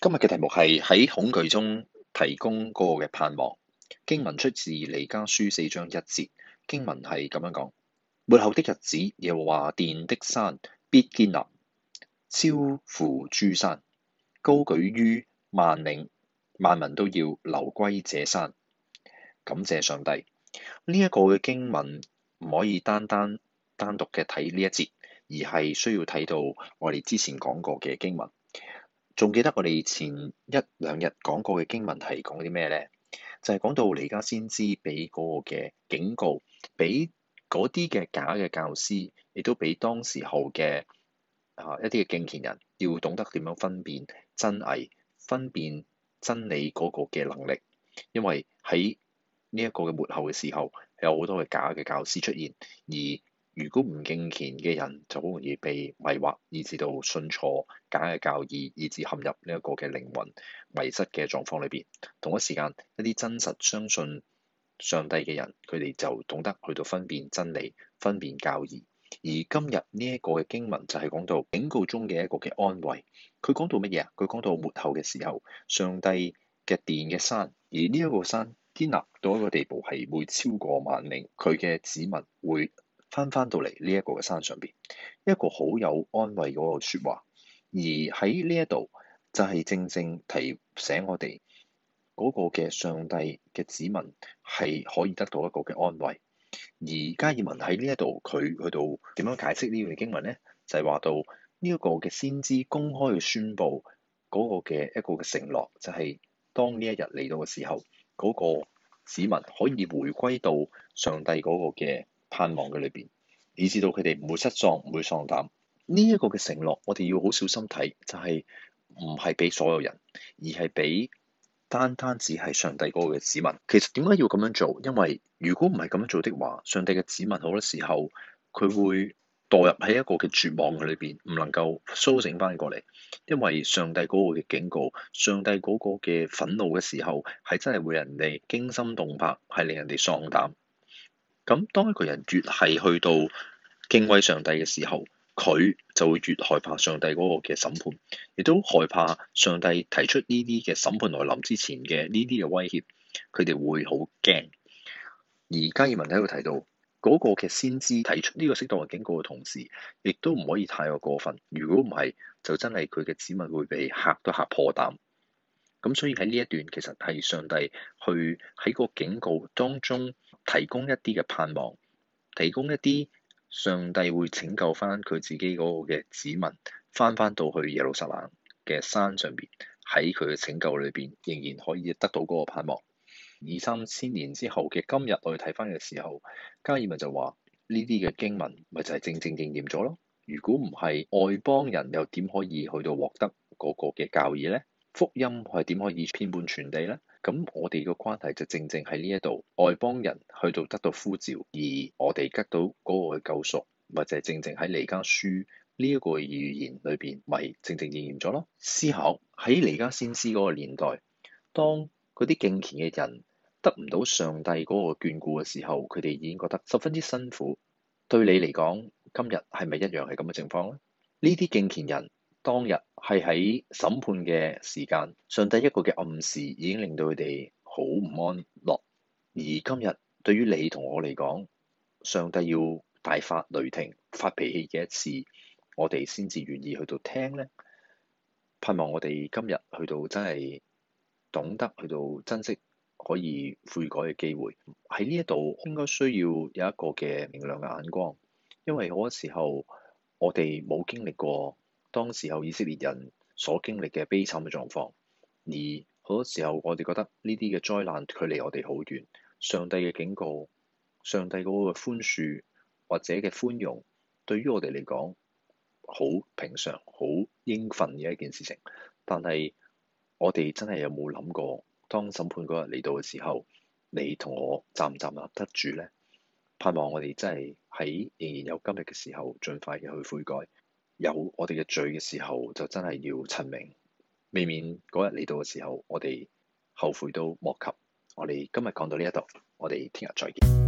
今日嘅題目係喺恐懼中提供嗰個嘅盼望。經文出自彌迦書4章1節，經文係咁樣講：末後的日子，耶和華殿的山必堅立，超乎諸山，高舉於萬嶺，萬民都要流歸這山。感謝上帝。呢一個嘅經文唔可以單獨嘅睇呢一節，而係需要睇到我哋之前講過嘅經文。仲記得我哋前一兩日講過嘅經文係講啲咩呢？就係講到彌迦先知俾嗰個嘅警告，俾嗰啲嘅假嘅教師，亦都俾當時候嘅一啲嘅敬虔人，要懂得點樣分辨真偽、分辨真理嗰個嘅能力。因為喺呢一個嘅末後嘅時候，有好多嘅假嘅教師出現，而如果唔敬虔嘅人就好容易被迷惑，以至到信錯假嘅教義，以至陷入呢一個嘅靈魂迷失嘅狀況裏邊。同一時間，一啲真實相信上帝嘅人，佢哋就懂得去到分辨真理、分辨教義。而今日呢一個嘅經文就係講到警告中嘅一個嘅安慰。佢講到乜嘢啊？佢講到末後嘅時候，上帝嘅殿嘅山，而呢一個山堅立到一個地步，係會超過萬嶺，佢嘅子民會翻到嚟呢一個嘅山上邊，一個好有安慰嗰個説話。而喺呢一度就係正正提醒我哋嗰個嘅上帝嘅子民係可以得到一個嘅安慰。而加爾文喺呢一度佢去到點樣解釋呢段經文呢？就係話到呢一個嘅先知公開去宣佈嗰個嘅一個嘅承諾，就係當呢一日嚟到嘅時候，嗰個子民可以回歸到上帝嗰個嘅盼望嘅裏邊，以至到佢哋唔會失喪，唔會喪膽。呢一個嘅承諾，我哋要好小心睇，就係唔係俾所有人，而係俾單只係上帝嗰個嘅子民。其實點解要咁樣做？因為如果唔係咁樣做的話，上帝嘅子民好多時候佢會墮入喺一個嘅絕望嘅裏邊，唔能夠甦醒翻過嚟。因為上帝嗰個嘅警告，上帝嗰個嘅憤怒嘅時候，係真係會令人哋驚心動魄，係令人哋喪膽。咁當一個人越係去到敬畏上帝嘅時候，佢就會越害怕上帝嗰個嘅審判，亦都害怕上帝提出呢啲嘅審判來臨之前嘅呢啲嘅威脅，佢哋會好驚。而加爾文喺度提到嗰個嘅先知提出呢個適當嘅警告嘅同時，亦都唔可以太過分。如果唔係，就真係佢嘅子民會被嚇都嚇破膽。咁所以喺呢一段其實係上帝去喺個警告當中提供一啲嘅盼望，提供一啲上帝會拯救翻佢自己嗰個嘅子民，翻到去耶路撒冷嘅山上邊，喺佢嘅拯救裏邊仍然可以得到嗰個盼望。2、3千年之後嘅今日，我哋睇翻嘅時候，加爾文就話呢啲嘅經文咪就係正正應驗咗咯。如果唔係外邦人，又點可以去到獲得嗰個嘅教義咧？福音係點可以遍滿全地咧？咁我哋嘅關係就正正喺呢一度，外邦人去到得到呼召，而我哋得到嗰個嘅救贖，咪就係正正喺彌迦書呢一個預言裏邊，咪正正應驗咗咯。思考喺彌迦先知嗰個年代，當嗰啲敬虔嘅人得唔到上帝嗰個眷顧嘅時候，佢哋已經覺得十分之辛苦。對你嚟講，今日係咪一樣係咁嘅情況咧？呢啲敬虔人當日係喺審判嘅時間，上帝一個嘅暗示已經令到佢哋好唔安樂。而今日對於你同我嚟講，上帝要大發雷霆、發脾氣嘅一次，我哋先至願意去到聽咧。盼望我哋今日去到真係懂得去到珍惜可以悔改嘅機會。喺呢一度應該需要有一個嘅明亮嘅眼光，因為好多時候我哋冇經歷過當時候以色列人所經歷嘅悲慘嘅狀況，而好多時候我哋覺得呢啲嘅災難距離我哋好遠。上帝嘅警告、上帝嗰個寬恕或者嘅寬容，對於我哋嚟講好平常、好應份嘅一件事情。但係我哋真係有冇諗過，當審判嗰日嚟到嘅時候，你同我站唔站立得住呢？盼望我哋真係喺仍然有今日嘅時候，盡快嘅去悔改。有我哋嘅罪嘅時候，就真係要陳明，未免嗰日嚟到嘅時候，我哋後悔都莫及。我哋今日講到呢一度，我哋聽日再見。